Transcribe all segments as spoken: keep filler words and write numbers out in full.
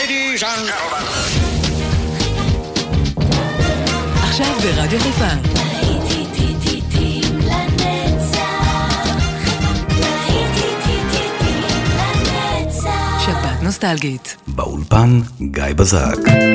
Ladies and gentlemen. עכשיו ברדיו חיפה. שבת נוסטלגית. באולפן גיא בזק.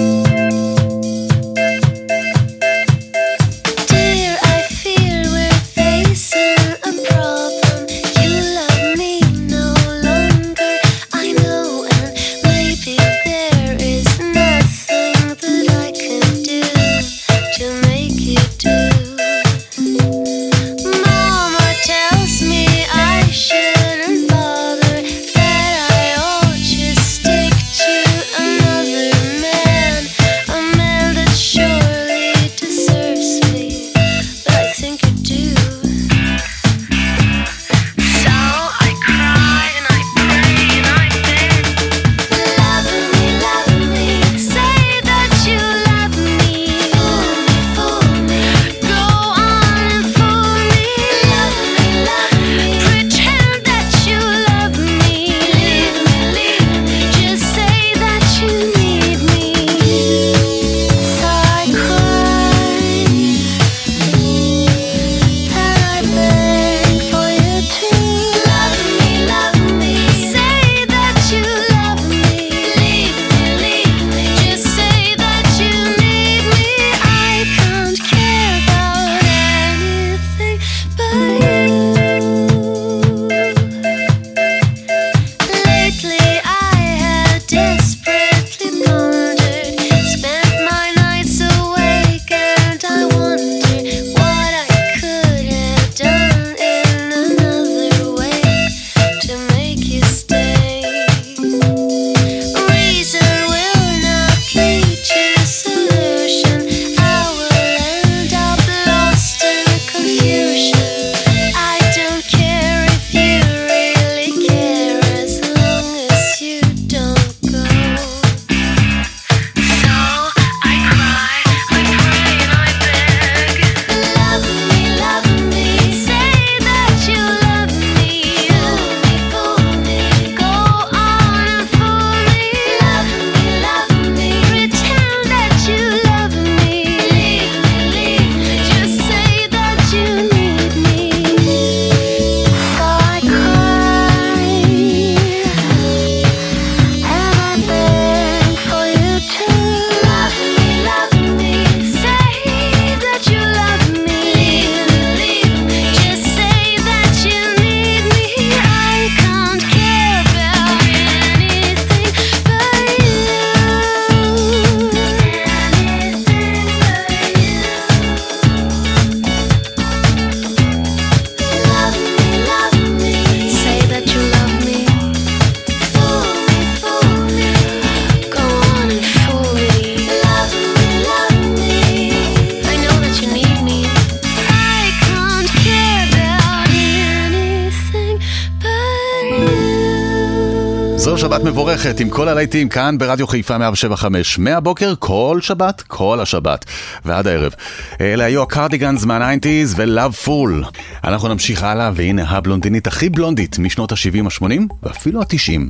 זו שבת מבורכת עם כל הלהיטים כאן ברדיו חיפה מאה שבע חמש. מהבוקר כל שבת, כל השבת ועד הערב. אלה היו הקרדיגנס מה-תשעים ולאב פול. אנחנו נמשיך הלאה, והנה הבלונדינית הכי בלונדית משנות ה-שבעים, ה-שמונים ואפילו ה-תשעים.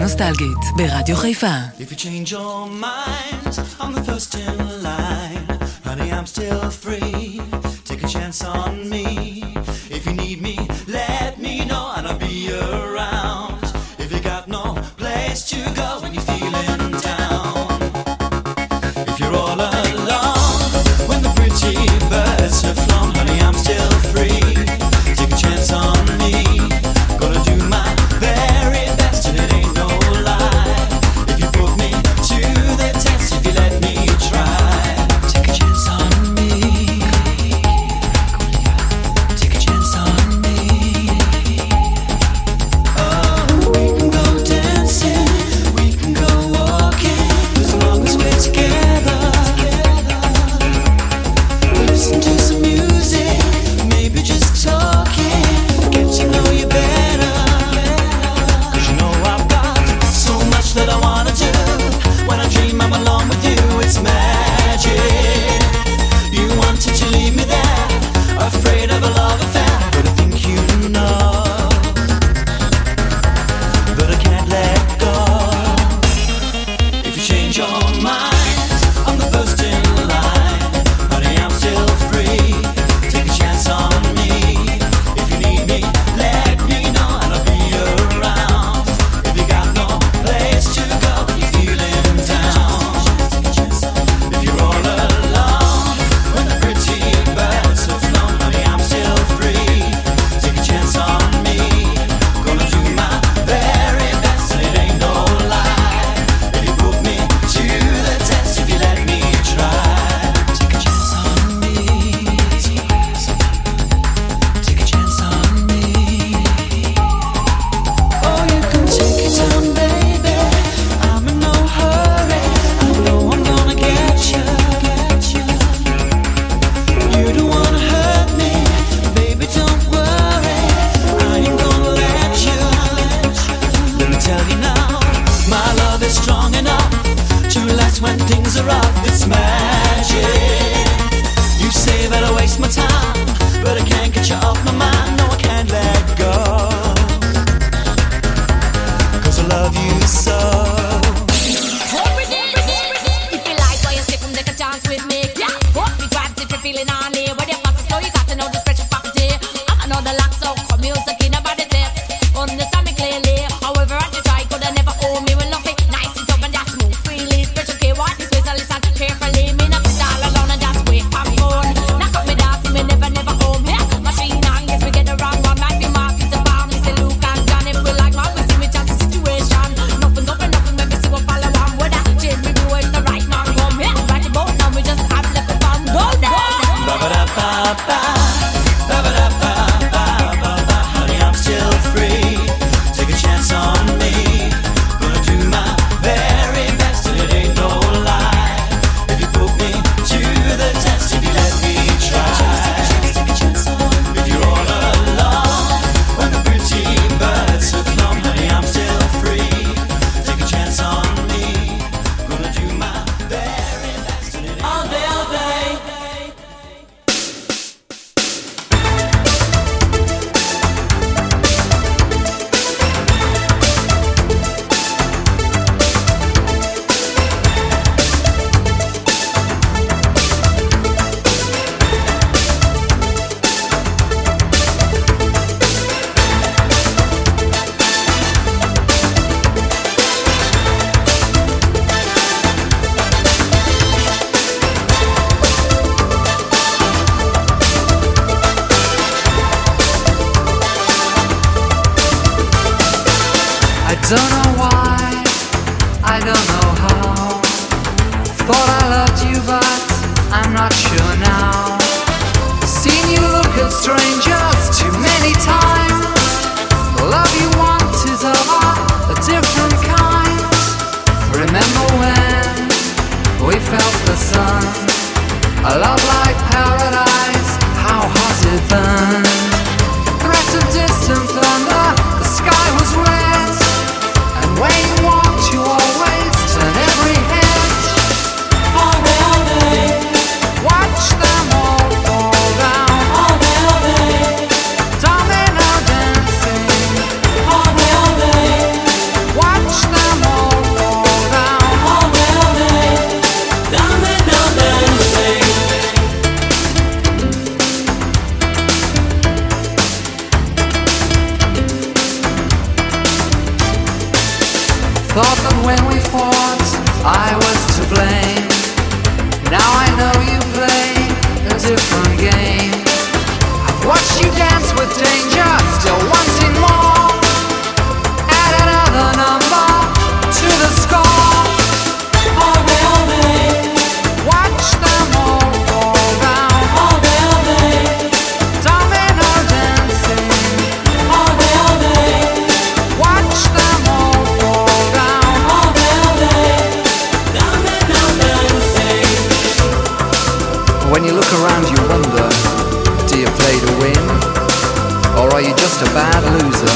נוסטלגית, ברדיו חיפה. If you change your mind, I'm the first in line. Honey, I'm still free. Take a chance on me. If you need me, let me know and I'll be around. If you got no place to go when you're feeling down. If you're all alone, when the pretty birds have flown, honey, I'm still free. Take a chance on me. Gonna do my very best and it ain't no lie. If you put me to the test, if you let me try. Take a chance on me. Take a chance on me. Oh, we can go dancing, we can go walking, as long as we're together. Listen to some music, maybe just talking, get to know you better. Cause you know I've got so much that I wanna do. When I dream I'm alone with you, it's magic. You wanted to leave me there, afraid of a love affair, but I think you know that I can't let go. If you change your mind, I'm the first in line. Honey, I'm still free. Take a chance on me. If you need me, let me know and I'll be around. If you got no place to go when you're feeling down. If you're all alone, when the pretty birds have flown, honey, I'm still free. Take a chance on me. Gonna do my very best and it ain't no lie. If you put me to the test, if you let me try. Take a chance on me. Take a chance on me. Oh, you can take your time, baby. I'm in no hurry. I know I'm gonna get you. You don't wanna hurt me, baby. Don't worry. I ain't gonna let you. Let me tell you now, my love is strong enough to last when things are rough. It's magic. You say that I waste my time, but I can't get you off my mind. No, I can't let go. Cause I love you so. If you like what you say, come take a chance with me. Yeah, hope me grabs if you're feeling on it. When you're fast, slow, you got to know the special property. I'm another lock, so come music in about the test. Understand me clearly. However, I just try, could I never owe me when lucky. Nice and up and just move freely. Special care, what this way, so listen carefully. Me not sit all alone and just wait for fun. Knock up me dance, me never, never home. Yeah, machine on, guess we get the wrong one. Might be market to bomb. Me say Luke and John, if we like man, we see me change the situation. Nothing up and nothing, make me see what follow on. Whether change we do it, the right man come. Yeah, right about now, we just have left the fun. Go down. Ba-ba-da-ba-ba. Ba-ba-da-ba-ba-ba-ba. Honey, I'm still free. Take a chance on me. Gonna do my very best and it ain't no lie. If you put me to the test, if you let me try. If you're all alone, when the pretty birds have flown, honey, I'm still free. Take a chance on me. Gonna do my very best and it ain't all day, all day. I don't know why, I don't know how. Thought I loved you, but I'm not sure now. Seen you look at strangers too many times. The love you want is of a different kind. Remember when we felt the sun? A love like paradise, how hot it burned. Threat of distant thunder, the sky was red. And when you walked, you always turn every head. All day, all day. Watch them all fall down. All day, all day. Domino dancing. All day, all day. Watch them thought I was to blame. Now I know you play a different game. I've watched you dance with danger, still wanting more. Add another number to the score. All day, all day. Watch them all fall down. All day, all day. Domino dancing. All day, all day. Watch them all fall down. All day, all day. Domino dancing. When you look around you wonder, do you play to win? Or are you just a bad loser?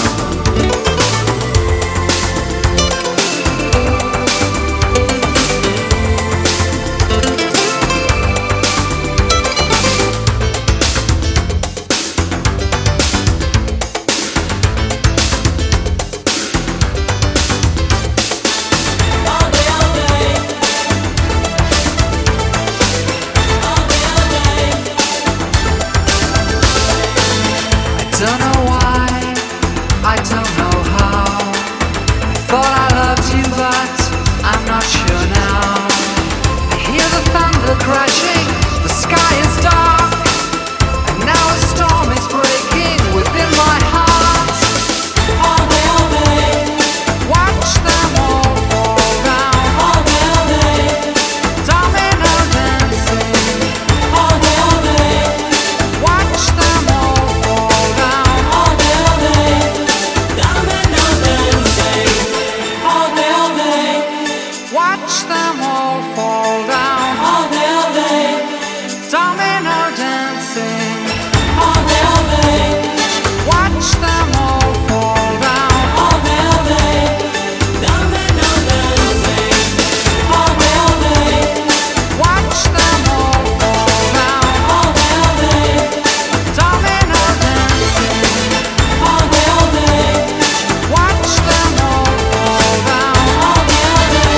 Don't know why, I don't know how. Thought I loved you, but I'm not sure now. I hear the thunder crashing, the sky is dark, and now a storm is breaking within my heart. All day, all day, watch them all fall down. All day, all day, domino dancing. All day, all day, watch them all fall down. All day, all day, domino dancing. All day, all day, watch them all fall down. All day, all day, domino dancing. All day, all day, watch them all fall down. All day, all day, domino dancing. All day, all day, watch them all fall down. All day, all day, domino dancing. All day, all day, watch them all fall down. All day, all day.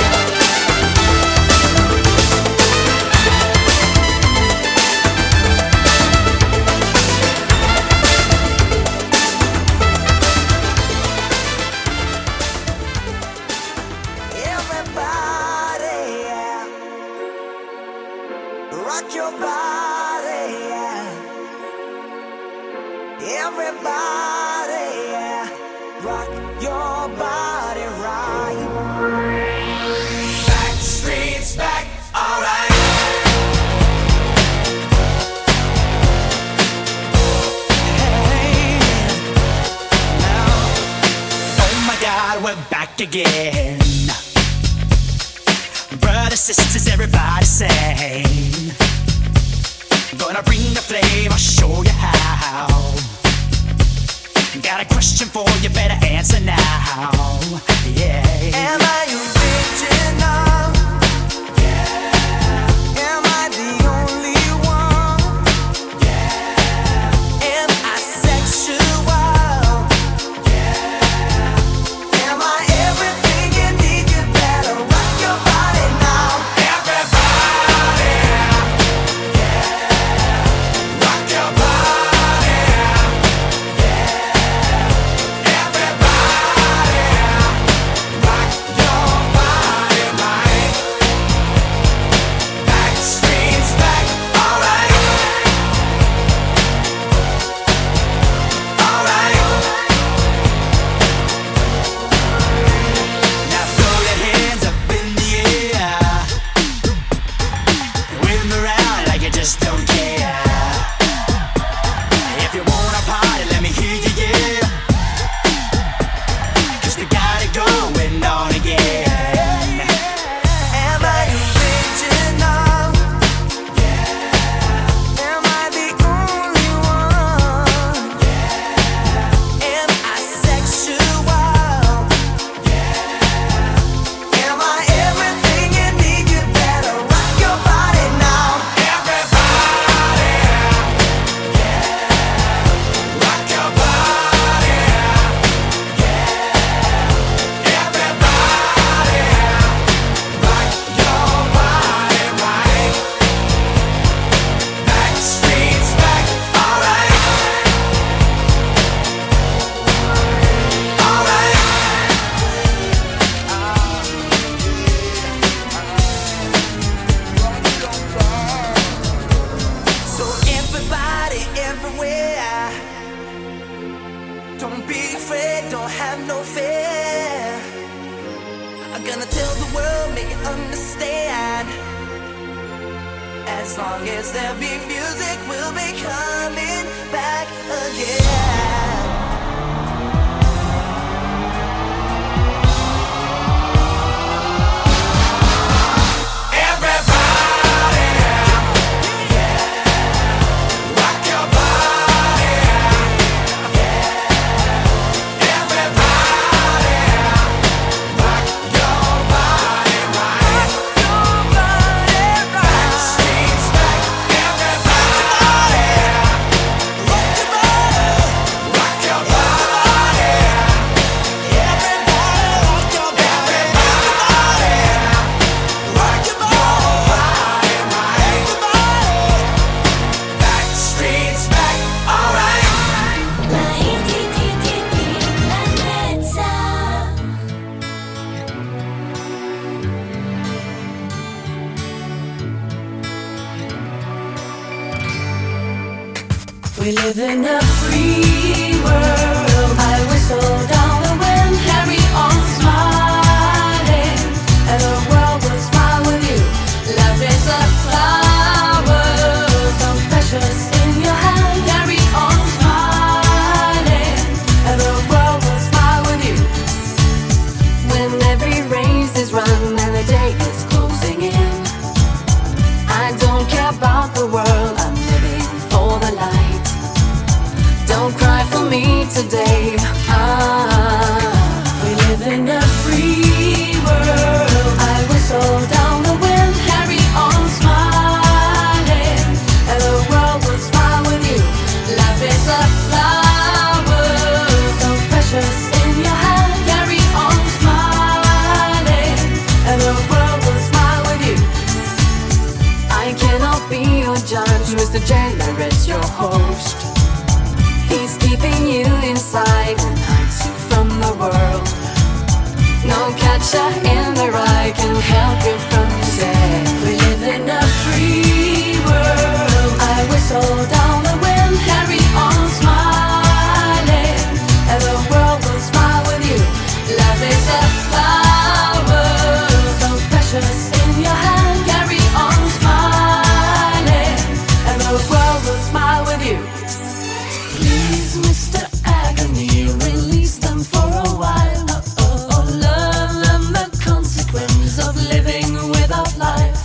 Everybody, yeah. Rock your body, yeah. Everybody, yeah. Rock your body right. Back streets back, alright. Hey, now, oh my God, we're back again. Brothers, sisters, everybody sing. Gonna bring the flame, I'll show you how. Got a question for you, better answer now. Yeah. Am I original? Yeah. Am I the only one? Yeah. Am I sexual? Yeah. Am I everything you need? You better rock your body now. Everybody, yeah. Rock your body, yeah. Everybody, rock your As long as there be music, we'll be coming back again. We live in a free world. I whistle down the wind, carry on smiling, and the world will smile with you. Love is a flower, so precious in your hand. Carry on smiling, and the world will smile with you. When every race is run and the day is closing in, I don't care about the world. I'm living for the light. Don't cry for me today. Ah, we live in a free world. I whistle down the wind, carry on smiling, and the world will smile with you. Love is a flower, so precious in your hand. Carry on smiling, and the world will smile with you. I cannot be your judge, Mister Jailer is your host. He's keeping you inside and hides you from the world. No catcher in the rye can help you from today. We live in a free world. I whistle down the wind, carry on smiling, and the world will smile with you. Love is a flower, so precious in your hand. Carry on smiling, and the world will smile with you. Please, Mister Agony, release them for a while. Oh, oh, oh, learn them the consequence of living without life.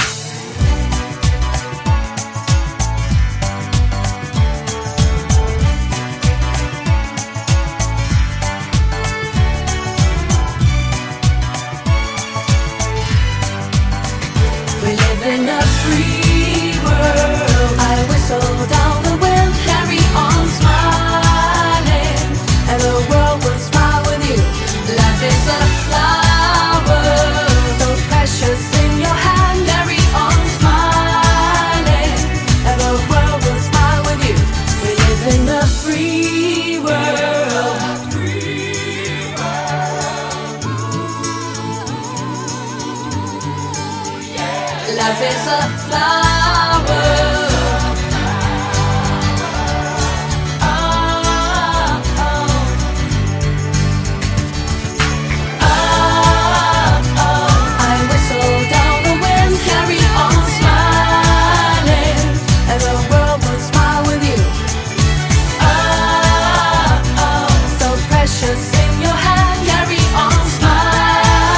We live in a free world. I whistle down the wind, carry on smiling, and the world will smile with you. Life is a flower, so precious in your hand. Carry on smiling, and the world will smile with you. We live in a free world. Life is a flower.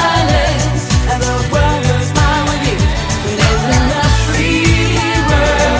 Free world.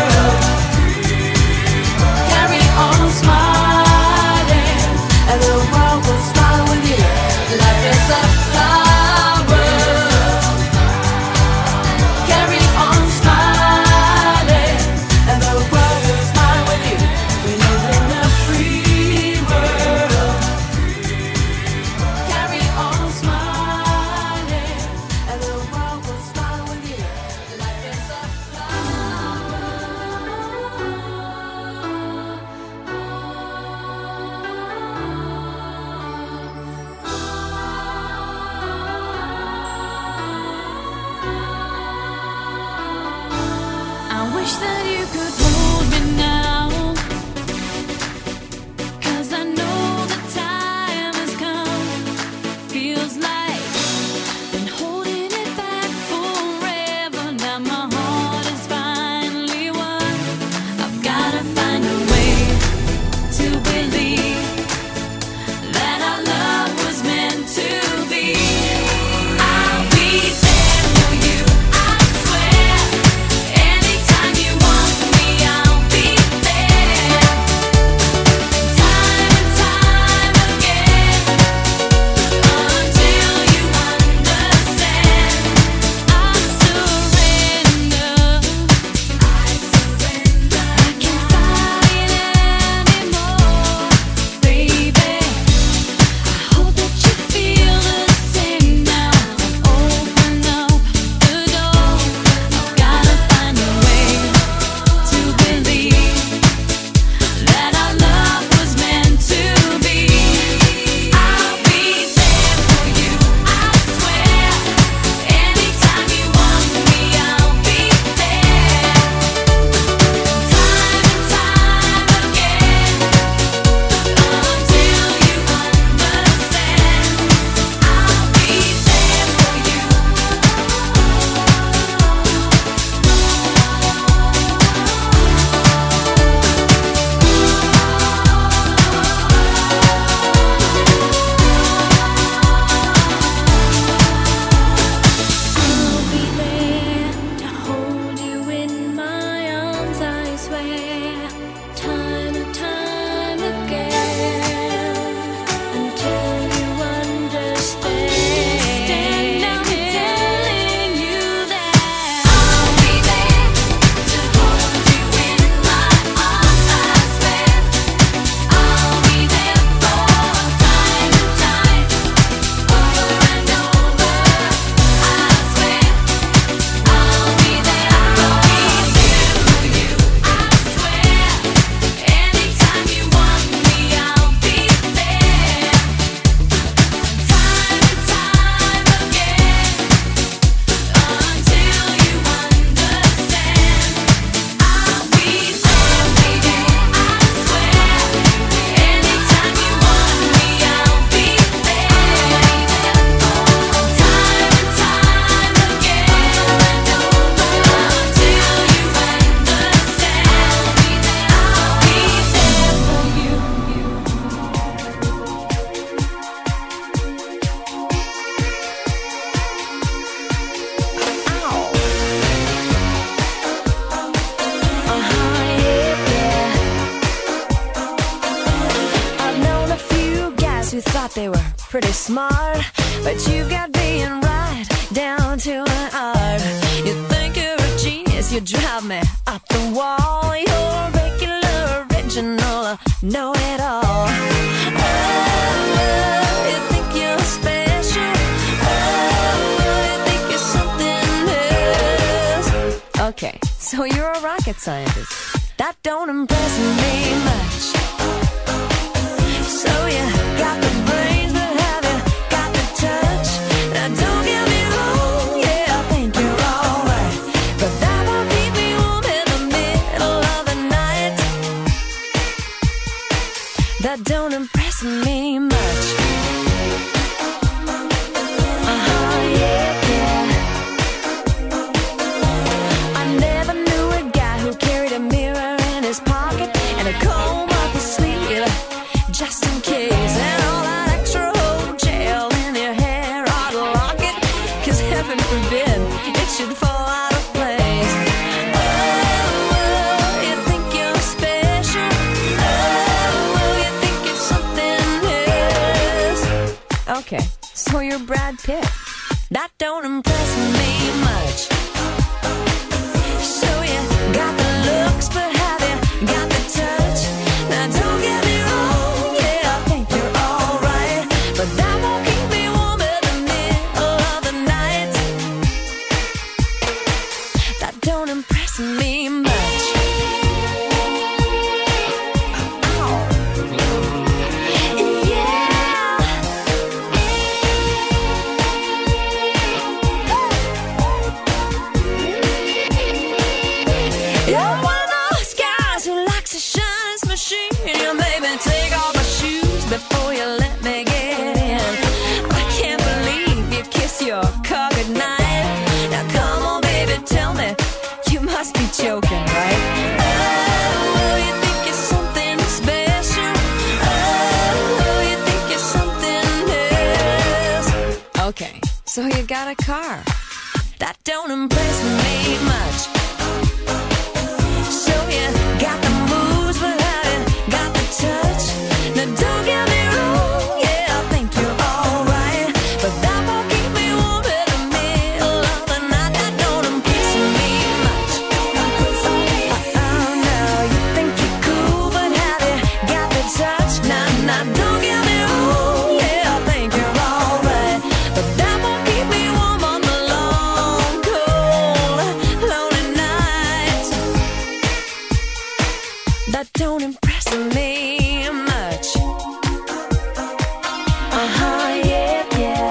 pretty smart, but you've got being right down to an art. You think you're a genius, you drive me up the wall. You're regular, original, know it all. Oh, you think you're special. Oh, you think you're something else. Okay, so you're a rocket scientist. That don't impress me much. So you got the brains, but have you got the touch? Now don't get me wrong, yeah, I think you're alright, but that won't keep me warm in the middle of the night. That don't impress me much. Uh-huh, yeah, yeah. I never knew a guy who carried a mirror in his pocket and a comb up his sleeve, just in case, and all that extra old gel in your hair ought to lock it, cause heaven forbid it should fall out of place. Oh, you think you're special. Oh, you think you're something else. Okay, so you're Brad Pitt. That don't impress me much. So you got the looks, but have you got the touch? Now don't get me wrong, yeah, I think you're alright, but that won't keep me warm in the middle of the night. That don't impress me much. Oh. Yeah. You're one of those guys who likes to shine his machine. You made me take off my shoes before you let me get in. I can't believe you kiss your car goodnight. Now come on, baby, tell me, you must be joking, right? Oh, you think you're something special. Oh, you think you're something else. Okay, so you got a car. That don't impress me much. So you got the moves, but have you got the touch? Now don't get me wrong, yeah, I think you're alright, but that won't keep me warm in the middle of the night. That don't impress me much. Oh no, you think you're cool, but have you got the touch? Now, now don't get me wrong, yeah, I think you're alright, but that won't keep me warm on the long, cold, lonely nights. That don't impress me much. Uh-huh, yeah, yeah.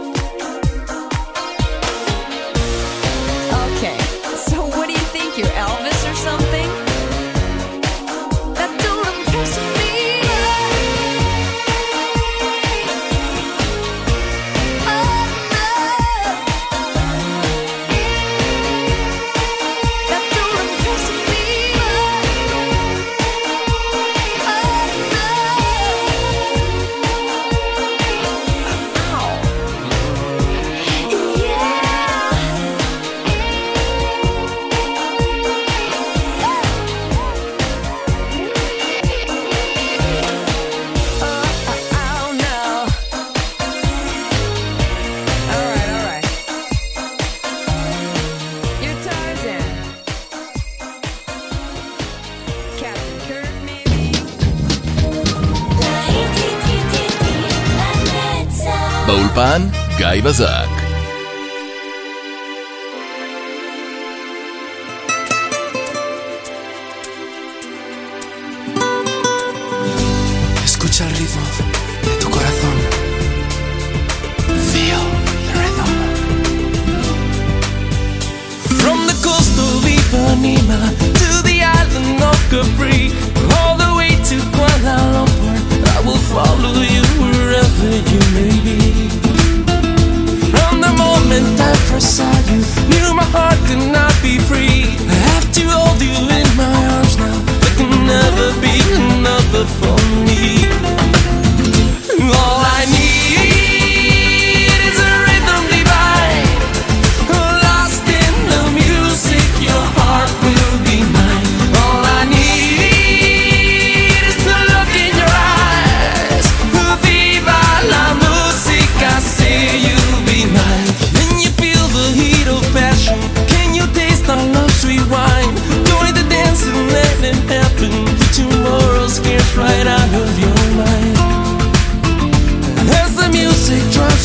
Okay, so what do you think, you're Elvis or something? That don't impress me much. Oh, no. That don't impress me באולפן גיא בזק. Escucha el ritmo de tu corazón. Feel the rhythm. From the coast of Ipanema to the island of Capri, all the way to Kuala Lumpur, I will follow you wherever you may be. From the moment I first saw you, knew my heart could not be free. I have to hold you in my arms now. There can never be another for me. All I need is a rhythm divine, lost in the music. Your heart will be mine. All I need is to look in your eyes. Viva la música.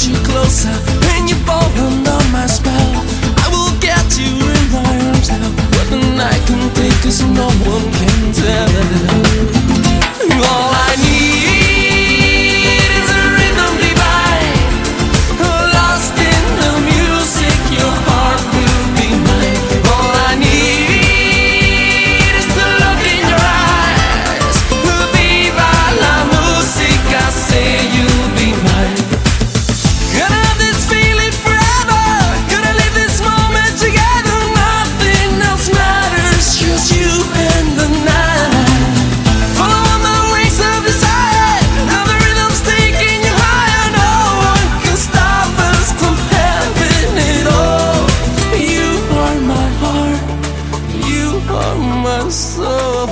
you closer and you fall under my spell. I will get you in my arms now. What the night can take us, no one can tell. All I need is a rhythm divine, lost in the music. Your heart will be mine. All I need is to look in your eyes. Viva la musica, say you'll be mine. Gonna have this feeling forever. Gonna live this moment together. Nothing else matters, just you and the night. Follow on the wings of desire. Now the rhythm's taking you higher. No one can stop us from having it all. You are my heart. You are my soul.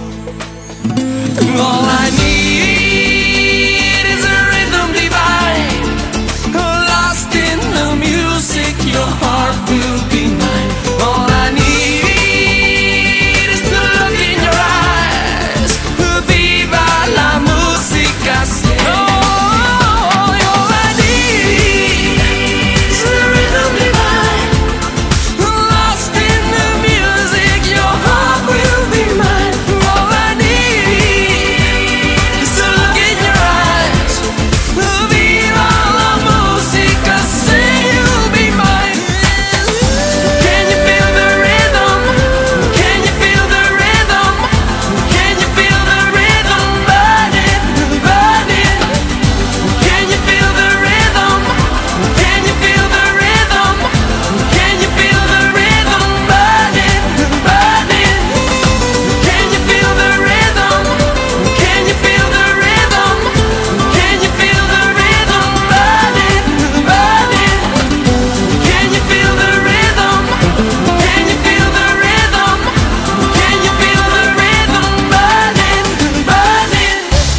All I need is a rhythm divine, lost in the music. Your heart will be mine. All I need is to look in your eyes. Viva la musica, say. Oh, all I need is a rhythm divine, lost in the music. Your heart will be mine. All I need is to look in your eyes. Viva la musica, say you'll be mine. Can you feel the rhythm? Can you feel the rhythm? Can you feel the rhythm burning, burning? Can you feel the rhythm? Can you feel the rhythm? Can you feel the rhythm burning, burning? Can you feel the rhythm? Can you feel the rhythm? Can you feel the rhythm burning, burning? Can you feel the rhythm? Can you feel the rhythm? Can you feel the rhythm burning, burning?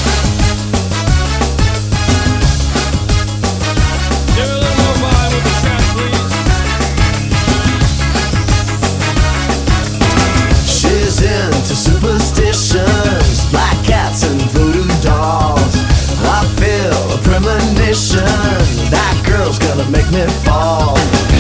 Give a little more vibe with the track, please. She's into superstitions, black cats and voodoo dolls. I feel a premonition, that girl's gonna make me fall.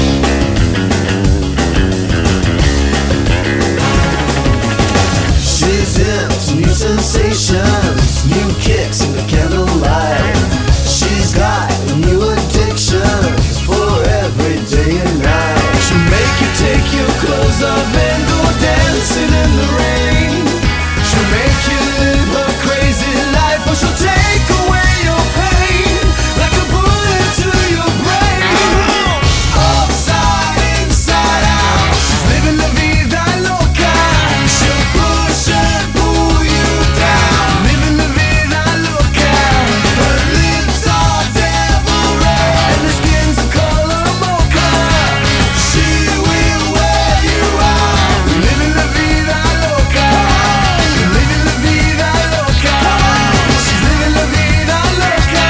She's into new sensations, new kicks in the candlelight. She's got new addictions for every day and night. She'll make you take your clothes off and go dancing in the rain. She'll make you live her crazy life, or she'll take away your pain like a bullet to your brain. Upside, inside out, she's living la vida loca. She'll push and pull you down, living la vida loca. Her lips are devil red and her skin's a color mocha. She will wear you out, living la vida loca, living la vida loca. She's living la vida loca.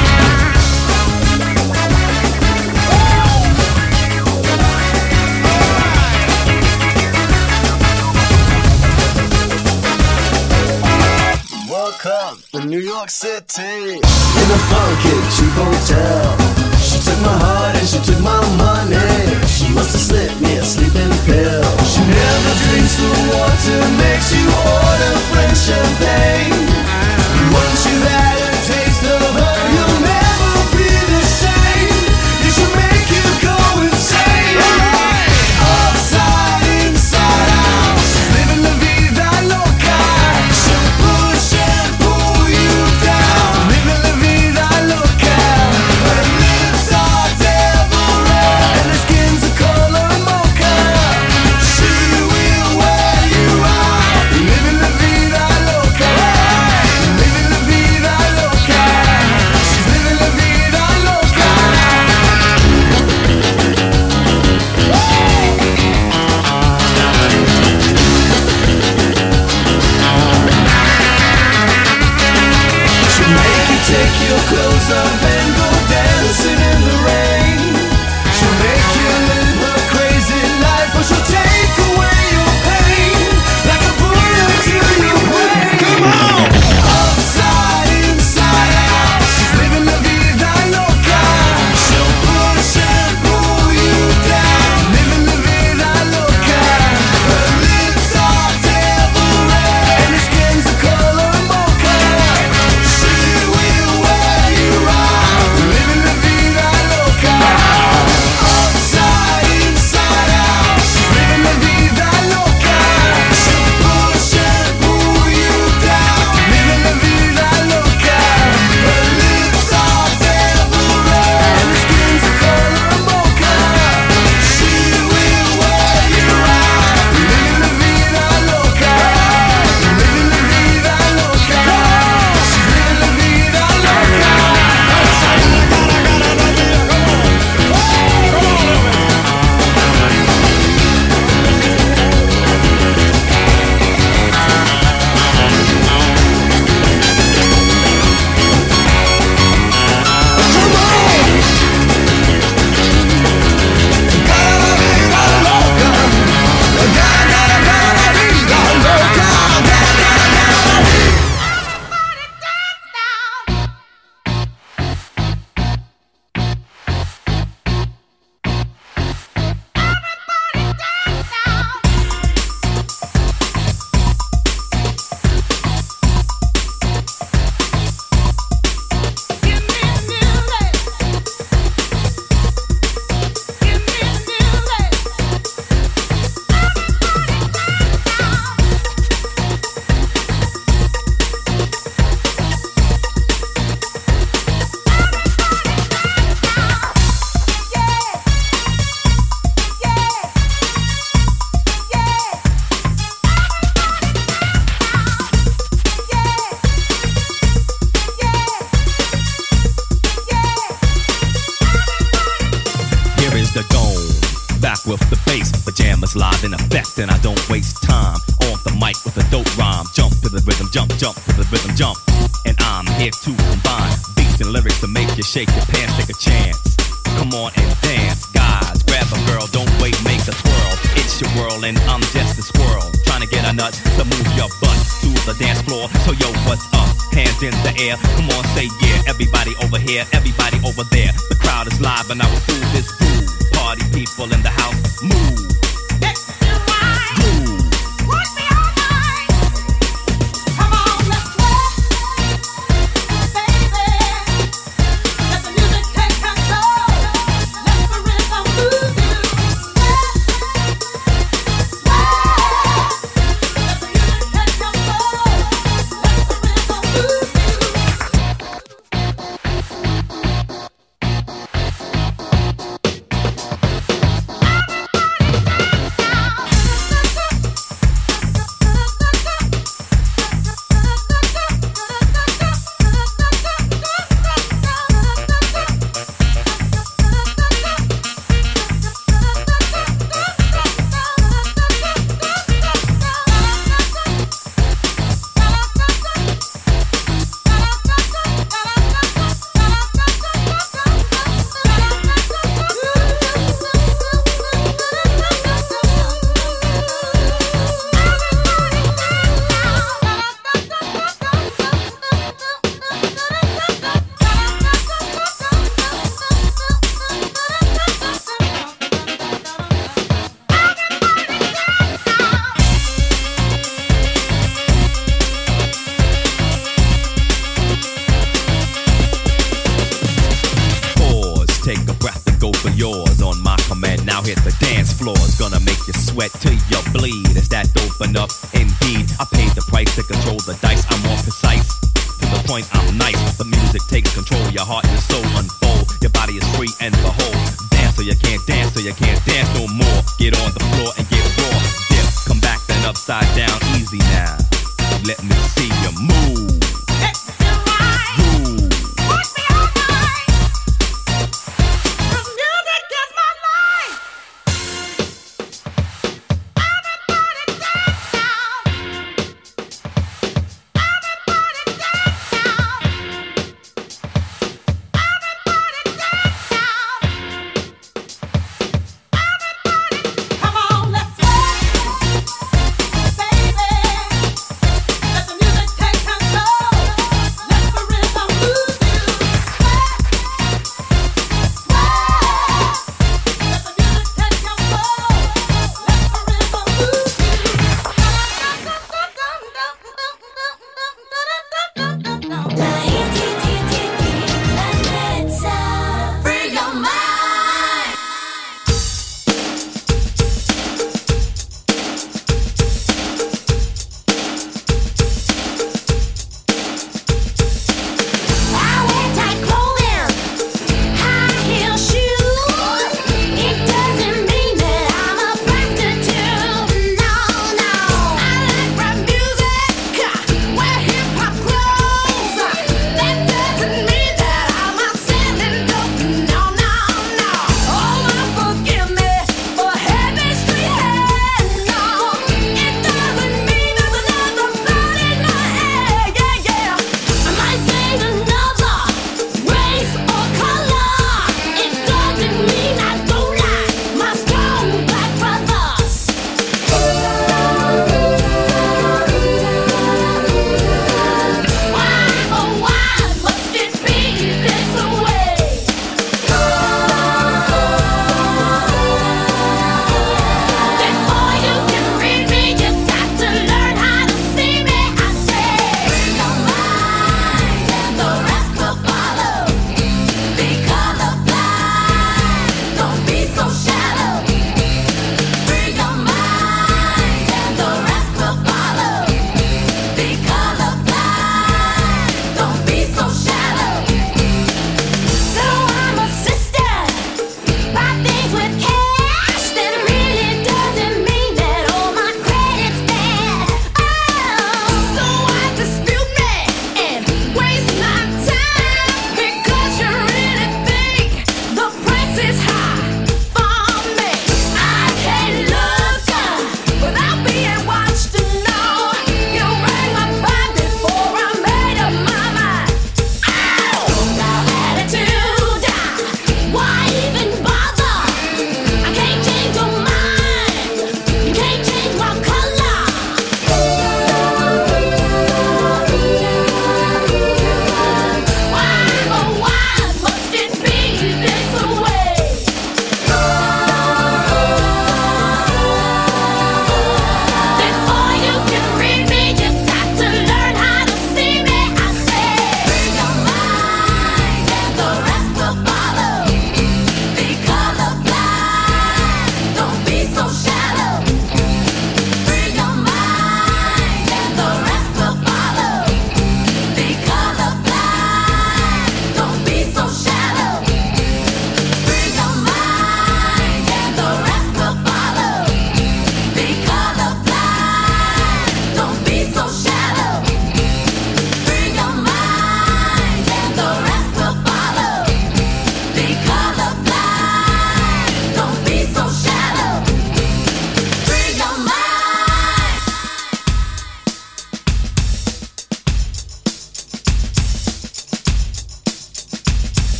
Woke up in New York City in a funky cheap hotel. She took my heart and she took my money. She must have slipped me a sleeping pill. She never drinks the water, makes you order French champagne. Once you've had a taste of her, you'll never be the same. You should make you go insane. Upside, inside out, she's living la vida loca. She'll push and pull you down, living la vida loca. Her lips are devil red and her skin's a color mocha. pajamas live in effect, and I don't waste time on the mic with a dope rhyme. Jump to the rhythm, jump, jump to the rhythm, jump. And I'm here to combine beats and lyrics to make you shake your pants, take a chance. Come on and dance, guys, grab a girl, don't wait, make a twirl. It's your world and I'm just a squirrel, trying to get a nut to move your butt to the dance floor. So yo, what's up? Hands in the air, come on, say yeah. Everybody over here, everybody over there. The crowd is live and I will do this groove. Party people in the house, move. Groove. Come on, let's sweat, baby. Let the music take control. Let the rhythm move you. Sweat, sweat. Let the music take control. Let the rhythm move you. Sweat till you bleed. Is that dope enough? Indeed, I paid the price to control the dice. I'm more precise. To the point, I'm nice. The music takes control. Your heart and soul unfold. Your body is free and behold. Dance so you can't dance, so you can't dance no more. Get on the floor and get raw. Dip, come back then upside down. Easy now. Let me see you move. Come on, let's sweat, baby. Let the music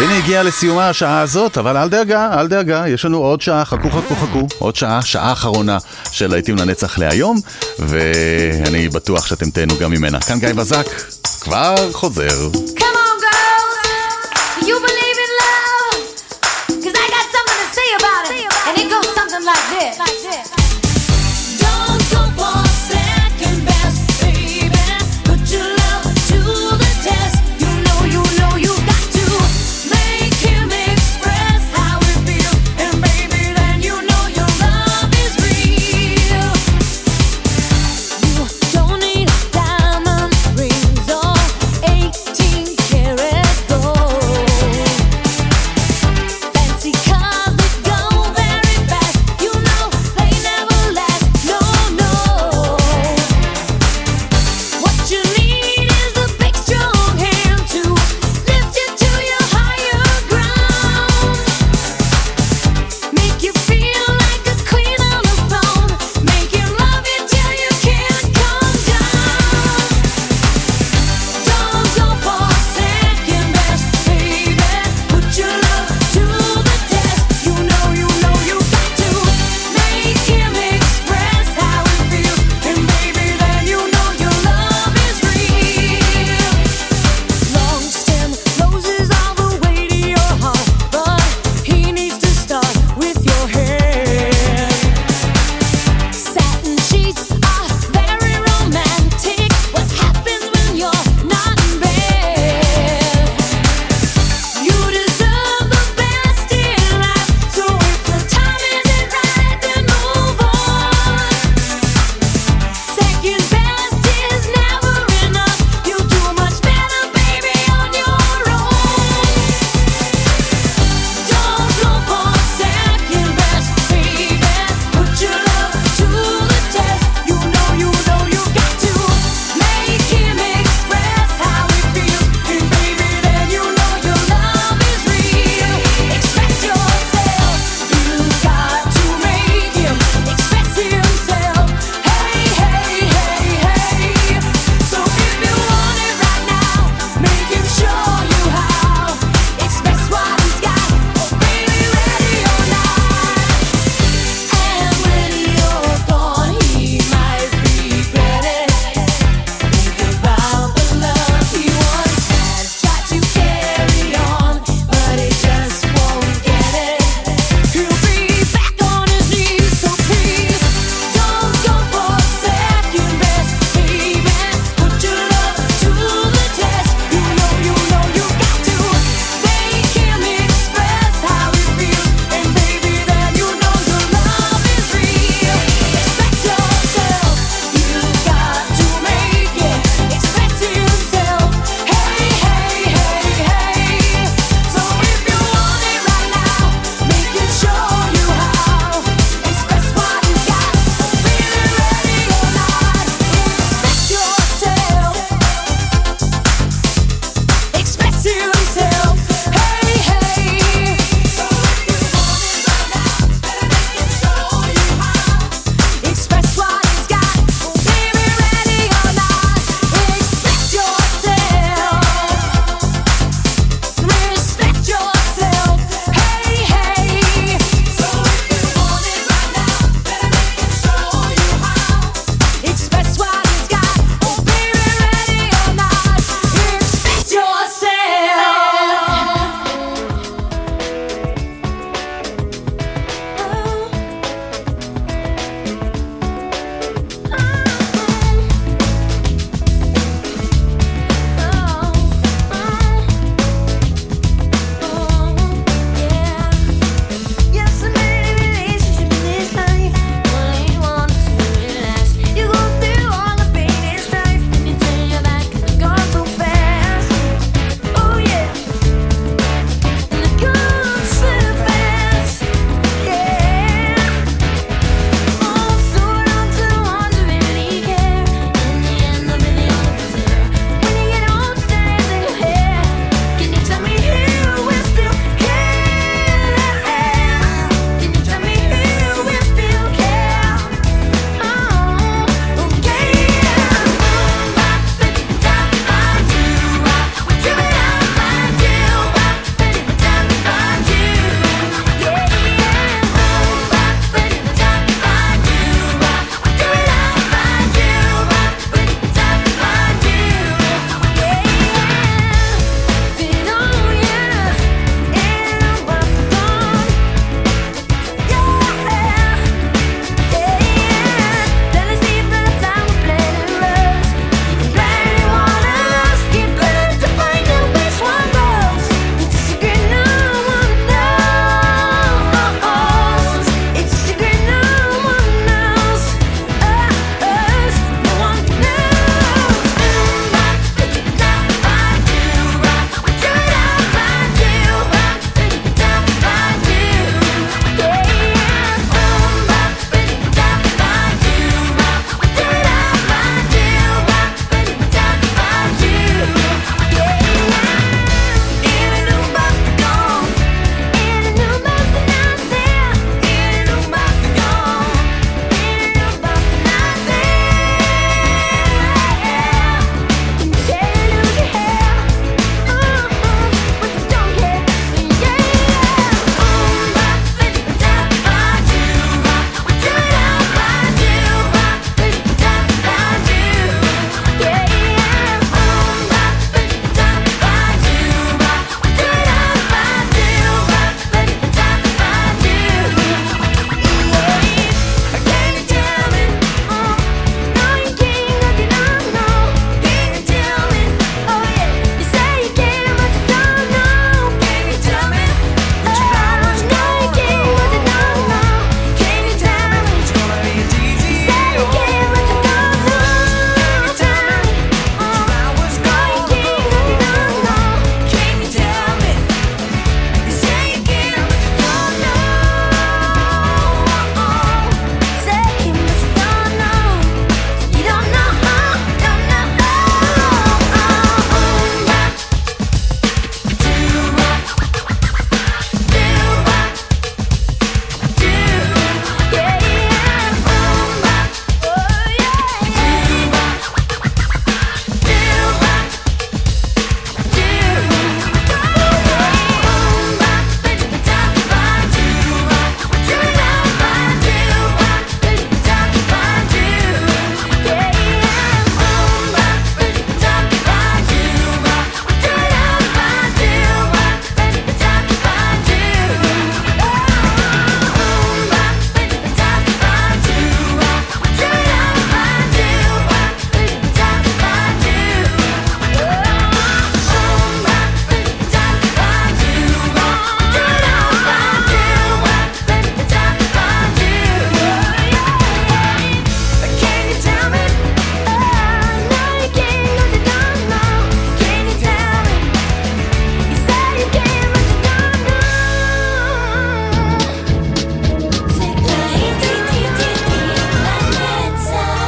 והנה הגיעה לסיומה השעה הזאת, אבל אל דאגה, אל דאגה, יש לנו עוד שעה, חכו חכו חכו, עוד שעה, שעה אחרונה של להיטים לנצח להיום, ואני בטוח שאתם תהנו גם ממנה. כאן גיא בזק, כבר חוזר. Come on, girls, do you believe in love? 'Cause I got something to say about it, and it goes something like this. Don't go for second best, baby. Put your love to the test. You know, you know you got to make him express how he feels, and baby, then you know your love is real. You don't need diamond rings or eighteen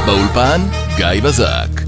באולפן גיא בזק.